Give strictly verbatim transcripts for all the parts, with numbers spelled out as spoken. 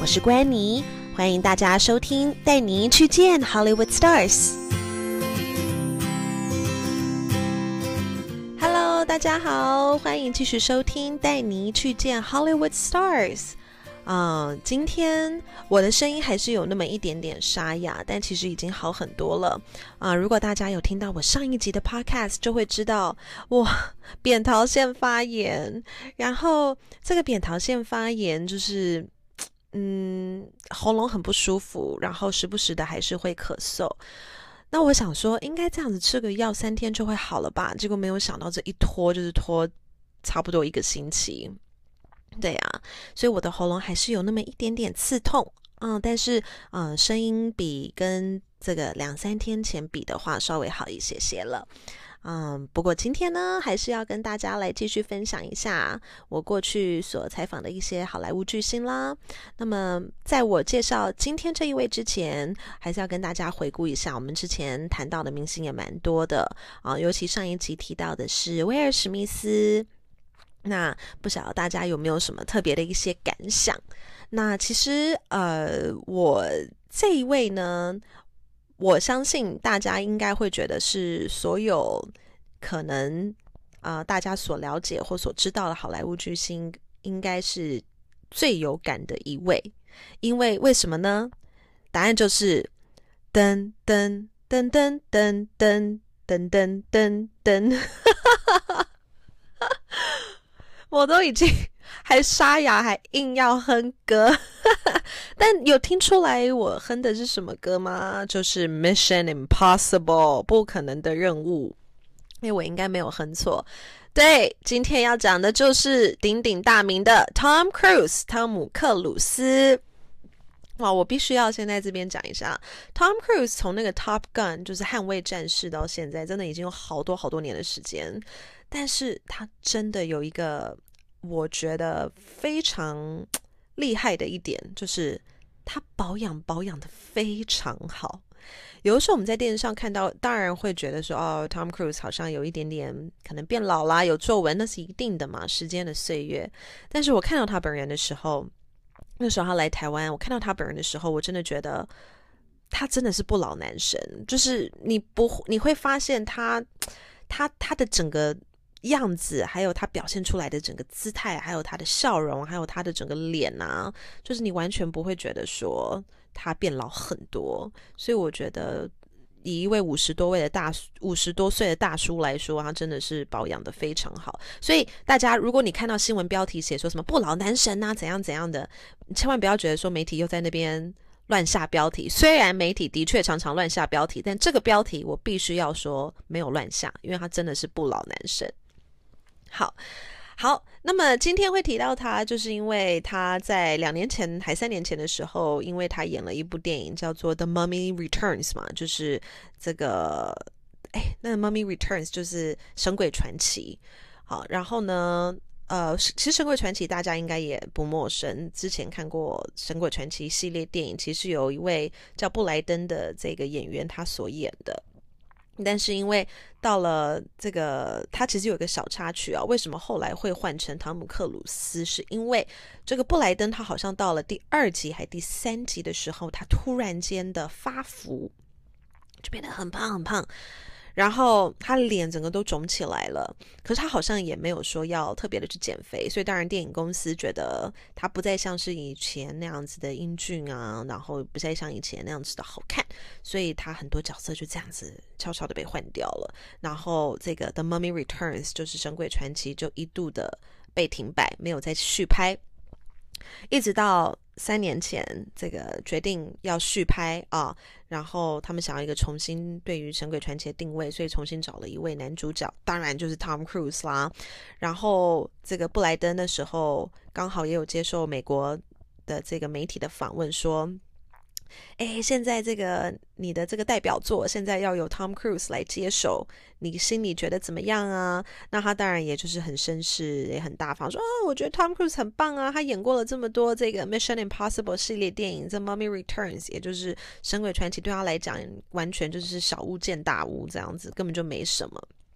是關妮，歡迎大家收聽，帶您去見 Hollywood Stars。Hello， 大家好，歡迎繼續收聽，帶您去見 Hollywood Stars。嗯、uh, 今天我的聲音還是有那麼一點點沙啞，但其實已經好很多了啊、uh, 如果大家有聽到我上一集的 podcast 就會知道我扁桃腺發炎，然後這個扁桃腺發炎就是嗯喉嚨很不舒服，然後時不時的還是會咳嗽。那我想說應該這樣子吃個藥三天就會好了吧，結果沒有想到這一拖就是拖差不多一個星期。對啊，所以我的喉嚨還是有那麼一點點刺痛，嗯，但是嗯，聲音比跟這個兩三天前比的話稍微好一些些了，嗯，不過今天呢，還是要跟大家來繼續分享一下我過去所採訪的一些好萊塢巨星啦。那麼在我介紹今天這一位之前，還是要跟大家回顧一下我們之前談到的明星也蠻多的啊，尤其上一集提到的是威爾史密斯。那不曉得大家有沒有什麼特別的一些感想？那其實呃，我這一位呢，我相信大家應該會覺得是所有可能啊、呃、大家所了解或所知道的好萊塢巨星，應該是最有感的一位。因為為什麼呢？答案就是噔噔噔噔噔噔噔噔噔噔。我都已經還沙啞，還硬要哼歌，但有聽出來我哼的是什麼歌嗎？就是 Mission Impossible 不可能的任務。因為我應該沒有哼錯。對，今天要講的就是鼎鼎大名的 Tom Cruise 湯姆克魯斯。哇，我必須要先在這邊講一下 Tom Cruise 從那個 Top Gun 就是捍衛戰士到現在，真的已經有好多好多年的時間。但是他真的有一個我覺得非常厲害的一點，就是他保養保養的非常好。有的時候我們在電視上看到，當然會覺得說哦 Tom Cruise 好像有一點點可能變老啦，有皺紋，那是一定的嘛，時間的歲月。但是我看到他本人的時候，那時候他來台灣，我看到他本人的時候，我真的覺得他真的是不老男神。就是你不你會發現他他他的整個樣子，還有他表現出來的整個姿態，還有他的笑容，還有他的整個臉啊，就是你完全不會覺得說他變老很多。所以我覺得以一位五十多位的大五十多歲的大叔來說，他真的是保養的非常好。所以大家如果你看到新聞標題寫說什麼不老男神啊怎樣怎樣的，千萬不要覺得說媒體又在那邊亂下標題。雖然媒體的確常常亂下標題，但這個標題我必須要說沒有亂下，因為他真的是不老男神。好好，那麼今天會提到他，就是因為他在兩年前還三年前的時候，因為他演了一部電影叫做《The Mummy Returns》嘛，就是這個哎，那個《Mummy Returns》就是《神鬼傳奇》。好，然後呢呃，其實《神鬼傳奇》大家應該也不陌生，之前看過《神鬼傳奇》系列電影，其實有一位叫布萊登的這個演員他所演的。但是因為到了這個，他其實有一個小插曲啊，為什麼後來會換成湯姆克魯斯？是因為這個布萊登他好像到了第二集還第三集的時候，他突然間的發福，就變得很胖很胖，然後他臉整個都腫起來了。可是他好像也沒有說要特別的去減肥，所以當然電影公司覺得他不再像是以前那樣子的英俊啊，然後不再像以前那樣子的好看，所以他很多角色就這樣子悄悄的被換掉了。然後這個 The Mummy Returns 就是神鬼傳奇就一度的被停擺，沒有再續拍，一直到三年前這個決定要續拍啊，然後他們想要一個重新對於神鬼傳奇的定位，所以重新找了一位男主角，當然就是 Tom Cruise 啦。然後這個布萊登的時候剛好也有接受美國的這個媒體的訪問說，哎，現在這個你的這個代表作現在要由 Tom Cruise 來接手，你心裡覺得怎麼樣啊？那他當然也就是很紳士，也很大方，說哦，我覺得 Tom Cruise 很棒啊，他演過了這麼多這個 Mission Impossible 系列電影，這 Mummy Returns 也就是神鬼傳奇對他來講完全就是小巫見大巫這樣子，根本就沒什麼。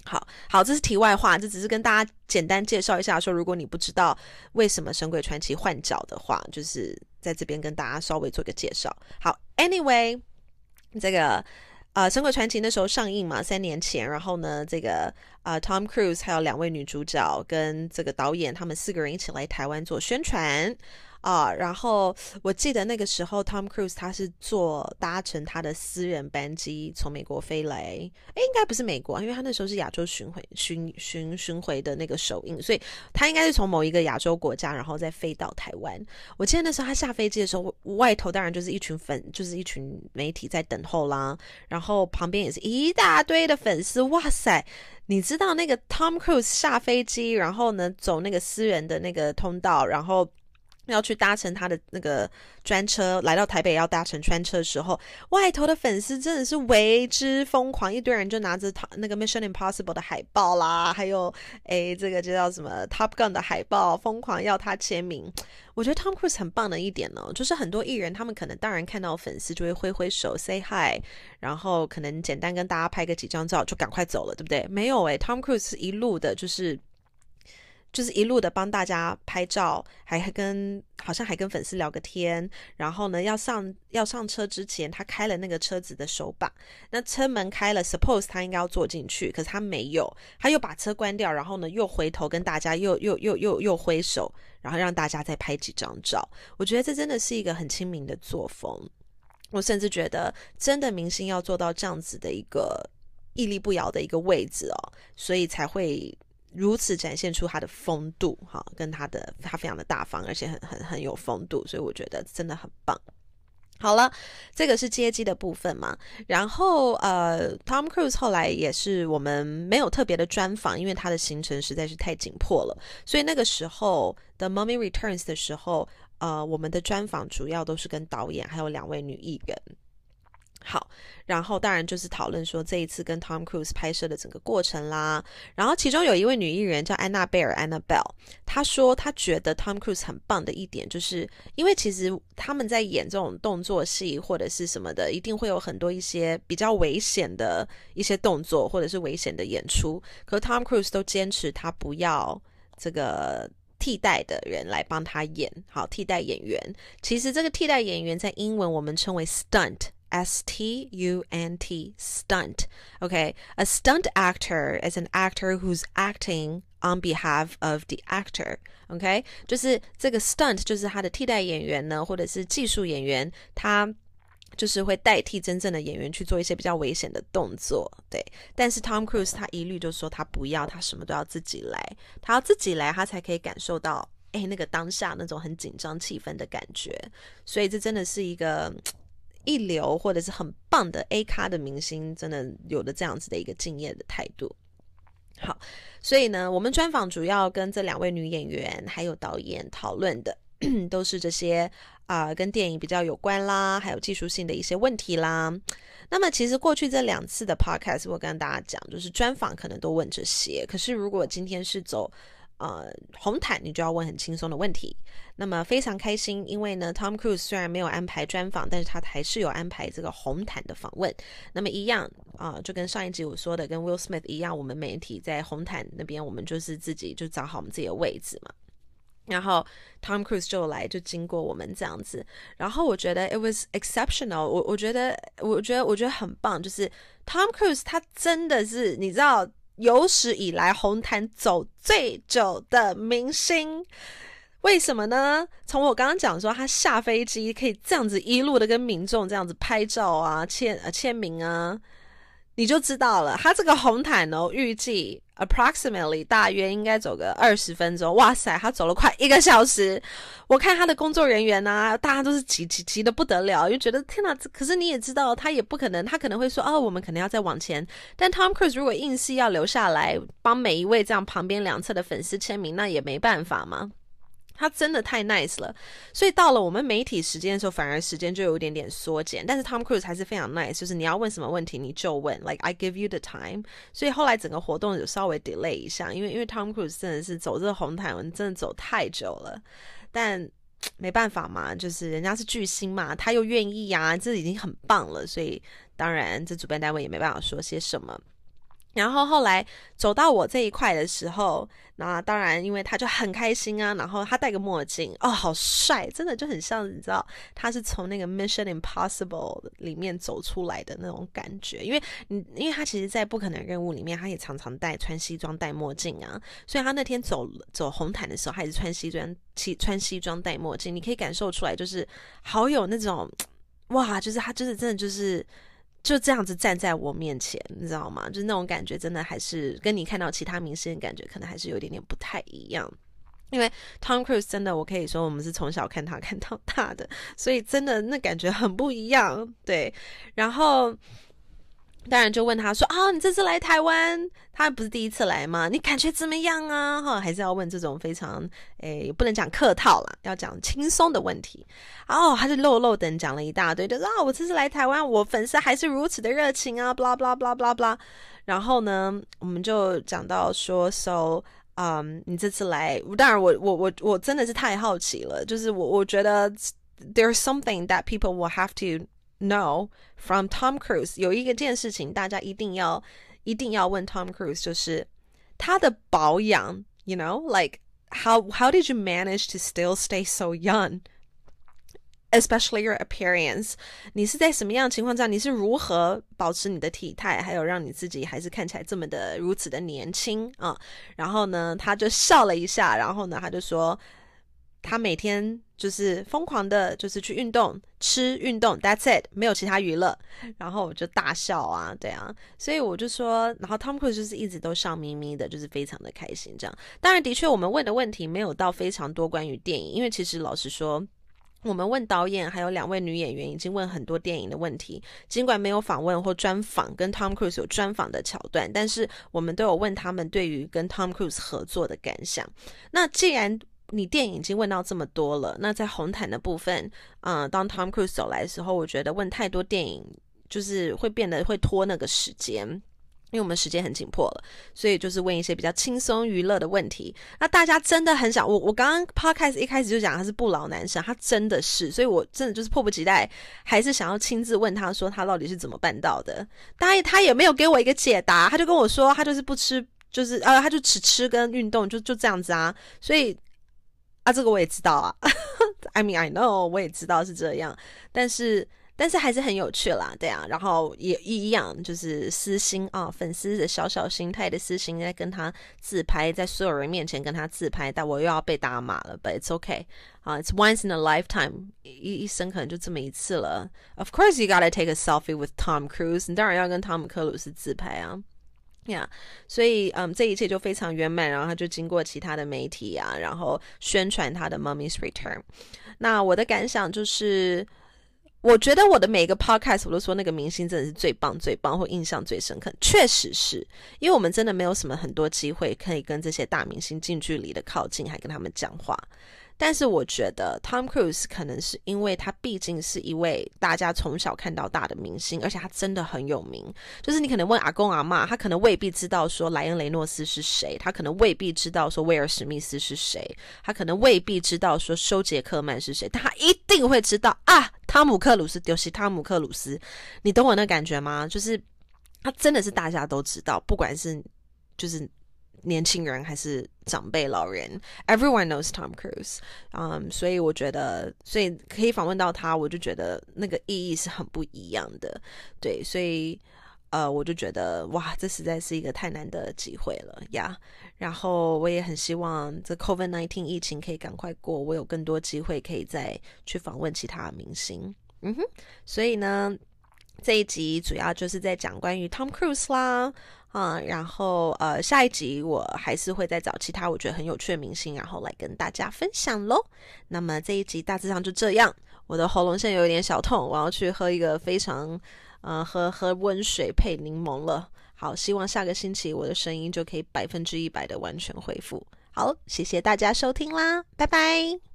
好好，這是題外話，這只是跟大家簡單介紹一下說，如果你不知道為什麼《神鬼傳奇》換角的話，就是在這邊跟大家稍微做個介紹。好 ，Anyway， 這個呃，《神鬼傳奇》那時候上映嘛，三年前，然後呢，這個呃，Tom Cruise 還有兩位女主角跟這個導演，他們四個人一起來台灣做宣傳。啊、uh, 然後我記得那個時候 Tom Cruise 他是坐搭乘他的私人班機從美國飛來，誒，應該不是美國，因為他那時候是亞洲巡迴巡巡巡迴的那個首映，所以他應該是從某一個亞洲國家，然後再飛到台灣。我記得那時候他下飛機的時候，外頭當然就是一群粉，就是一群媒體在等候啦，然後旁邊也是一大堆的粉絲，哇塞！你知道那個 Tom Cruise 下飛機，然後呢走那個私人的那個通道，然後要去搭乘他的那個專車來到台北，要搭乘專車的時候，外頭的粉絲真的是為之瘋狂，一堆人就拿着那個 Mission Impossible 的海報啦，還有誒這個就叫什麼 Top Gun 的海報，瘋狂要他簽名。我覺得 Tom Cruise 很棒的一點呢，就是很多藝人他們可能當然看到粉絲就會揮揮手 say hi， 然後可能簡單跟大家拍個幾張照就趕快走了，對不對？沒有誒 Tom Cruise 一路的就是就是一路的幫大家拍照，還跟好像還跟粉絲聊個天，然後呢要上要上車之前，他開了那個車子的手把，那車門開了 ，suppose 他應該要坐進去，可是他沒有，他又把車關掉，然後呢又回頭跟大家又又又又又揮手，然後讓大家再拍幾張照。我覺得這真的是一個很親民的作風，我甚至覺得真的明星要做到這樣子的一個屹立不搖的一個位置哦，所以才會如此展現出他的風度，哈，跟他的他非常的大方，而且很很很有風度，所以我覺得真的很棒。好了，這個是接機的部分嘛，然後呃 ，Tom Cruise 後來也是我們沒有特別的專訪，因為他的行程實在是太緊迫了，所以那個時候的 The Mummy Returns 的時候，呃，我們的專訪主要都是跟導演還有兩位女藝人。好，然後當然就是討論說這一次跟 Tom Cruise 拍攝的整個過程啦。然後其中有一位女藝人叫安娜貝爾 Annabelle， 她說她覺得 Tom Cruise 很棒的一點，就是因為其實他們在演這種動作戲或者是什麼的，一定會有很多一些比較危險的一些動作或者是危險的演出，可是 Tom Cruise 都堅持他不要這個替代的人來幫他演。好，替代演員，其實這個替代演員在英文我們稱為 stunt。S T U N T, stunt. Okay, a stunt actor is an actor who's acting on behalf of the actor. Okay, 就是這個 stunt 就是他的替代演員呢，或者是技術演員，他就是會代替真正的演員去做一些比較危險的動作。對，但是 Tom Cruise 他一律就說他不要，他什麼都要自己來，他要自己來，他才可以感受到哎那個當下那種很緊張氣氛的感覺。所以這真的是一個一流或者是很棒的 A 咖的明星，真的有的這樣子的一個敬業的態度。好，所以呢，我們專訪主要跟這兩位女演員還有導演討論的都是這些啊、呃，跟電影比較有關啦，還有技術性的一些問題啦。那麼其實過去這兩次的 podcast 我跟大家講，就是專訪可能都問這些，可是如果今天是走呃，紅毯你就要問很輕鬆的問題。那麼非常開心，因為呢 Tom Cruise 雖然沒有安排專訪，但是他還是有安排這個紅毯的訪問。那麼一樣啊、呃，就跟上一集我說的跟 Will Smith 一樣，我們媒體在紅毯那邊，我們就是自己就找好我們自己的位置嘛。然後 Tom Cruise 就來就經過我們這樣子，然後我覺得 it was exceptional， 我我覺得我覺得我覺得很棒，就是 Tom Cruise 他真的是你知道有史以來紅毯走最久的明星。為什麼呢？從我剛剛講說他下飛機可以這樣子一路的跟民眾這樣子拍照啊、簽呃簽名啊，你就知道了。他這個紅毯哦，預計 approximately 大約應該走個二十分鐘。哇塞，他走了快一個小時。我看他的工作人員啊，大家都是急急急的不得了，就覺得天哪！可是你也知道，他也不可能，他可能會說哦，我們可能要再往前。但 Tom Cruise 如果硬是要留下來幫每一位這樣旁邊兩側的粉絲簽名，那也沒辦法嘛。他真的太 nice 了，所以到了我們媒體時間的時候，反而時間就有一點點縮減。但是 Tom Cruise 還是非常 nice， 就是你要問什麼問題你就問 ，like I give you the time。所以後來整個活動有稍微 delay 一下，因為因為 Tom Cruise 真的是走這個紅毯，真的走太久了。但沒辦法嘛，就是人家是巨星嘛，他又願意啊，這已經很棒了。所以當然這主辦單位也沒辦法說些什麼。 然後後來走到我這一塊的時候，那當然因為他就很開心啊，然後他戴個墨鏡，哦，好帥，真的就很像你知道他是從那個 Mission Impossible 裡面走出來的那種感覺，因為你因為他其實在不可能任務裡面他也常常戴穿西裝戴墨鏡啊，所以他那天走走紅毯的時候他也是穿西裝穿西裝戴墨鏡，你可以感受出來就是好有那種哇，就是他就是真的就是就這樣子站在我面前，你知道嗎？就是那種感覺真的還是跟你看到其他明星的感覺可能還是有一點點不太一樣。因為 Tom Cruise 真的我可以說我們是從小看他看到大的，所以真的那感覺很不一樣。对，然後當然就問他說啊，你這次來台灣，他不是第一次來嗎？你感覺怎麼樣啊？哈，還是要問這種非常誒，不能講客套啦，要講輕鬆的問題。哦，他就漏漏等講了一大堆，就說啊，我這次來台灣，我粉絲還是如此的熱情啊，blah blah blah blah blah。然後呢，我們就講到說 ，so， 嗯，你這次來，當然我我我我真的是太好奇了，就是我我覺得 there's something that people will have to know from Tom Cruise， 有一個件事情大家一定要一定要問 Tom Cruise， 就是他的保養 you know like how how did you manage to still stay so young, especially your appearance， 你是在什麼樣的情況下，你是如何保持你的體態，還有讓你自己還是看起來這麼的如此的年輕啊？然後呢他就笑了一下，然後呢他就說他每天就是瘋狂的就是去運動吃運動 that's it， 沒有其他娛樂。然後我就大笑啊，對啊，所以我就說，然後 Tom Cruise 就是一直都笑眯眯的，就是非常的開心這樣。當然的確我們問的問題沒有到非常多關於電影，因為其實老實說我們問導演還有兩位女演員已經問很多電影的問題，儘管沒有訪問或專訪跟 Tom Cruise 有專訪的橋段，但是我們都有問他們對於跟 Tom Cruise 合作的感想。那既然你電影已經問到這麼多了，那在紅毯的部分，嗯，當 Tom Cruise 走來的時候，我覺得問太多電影就是會變得會拖那個時間，因為我們時間很緊迫了，所以就是問一些比較輕鬆娛樂的問題。那大家真的很想，我我剛剛 podcast 一開始就講他是不老男神，他真的是，所以我真的就是迫不及待，還是想要親自問他說他到底是怎麼辦到的。當然他也沒有給我一個解答，他就跟我說他就是不吃，就是呃他就只吃跟運動，就就這樣子啊，所以。啊，這個我也知道啊，I mean I know， 我也知道是這樣，但是但是還是很有趣啦，對啊，然後也一樣，就是私心啊，粉絲的小小心態的私心，在跟他自拍，在所有人面前跟他自拍，但我又要被打碼了 ，but it's okay， 啊、uh, ，it's once in a lifetime， 一一生可能就這麼一次了。Of course you gotta take a selfie with Tom Cruise， 你當然要跟湯姆克魯斯自拍啊。呀、yeah, 所以嗯，這一切就非常圓滿，然後他就經過其他的媒體啊，然後宣傳他的 Mummy's Return。那我的感想就是，我覺得我的每個 podcast 我都說那個明星真的是最棒最棒，或印象最深刻，確實是因為我們真的沒有什麼很多機會可以跟這些大明星近距離的靠近，還跟他們講話。但是我覺得 Tom Cruise 可能是因為他畢竟是一位大家從小看到大的明星，而且他真的很有名，就是你可能問阿公阿嬷，他可能未必知道說萊恩雷諾斯是誰，他可能未必知道說威爾史密斯是誰，他可能未必知道說休傑克曼是誰，但他一定會知道啊，湯姆克魯斯就是湯姆克魯斯，你懂我那感覺嗎？就是他真的是大家都知道，不管是就是年輕人還是長輩老人 everyone knows Tom Cruise， um, 所以我覺得所以可以訪問到他，我就覺得那個意義是很不一樣的，對，所以呃，我就覺得哇，這實在是一個太難得的機會了呀、yeah. 然後我也很希望這 COVID 十九 疫情可以趕快過，我有更多機會可以再去訪問其他的明星。嗯哼，所以呢這一集主要就是在講關於 Tom Cruise 啦，啊、嗯，然後呃下一集我還是會再找其他我覺得很有趣的明星，然後來跟大家分享咯。那麼這一集大致上就這樣，我的喉嚨現在有一點小痛，我要去喝一個非常呃喝喝溫水配檸檬了。好，希望下個星期我的聲音就可以百分之一百的完全恢復。好，謝謝大家收聽啦，拜拜。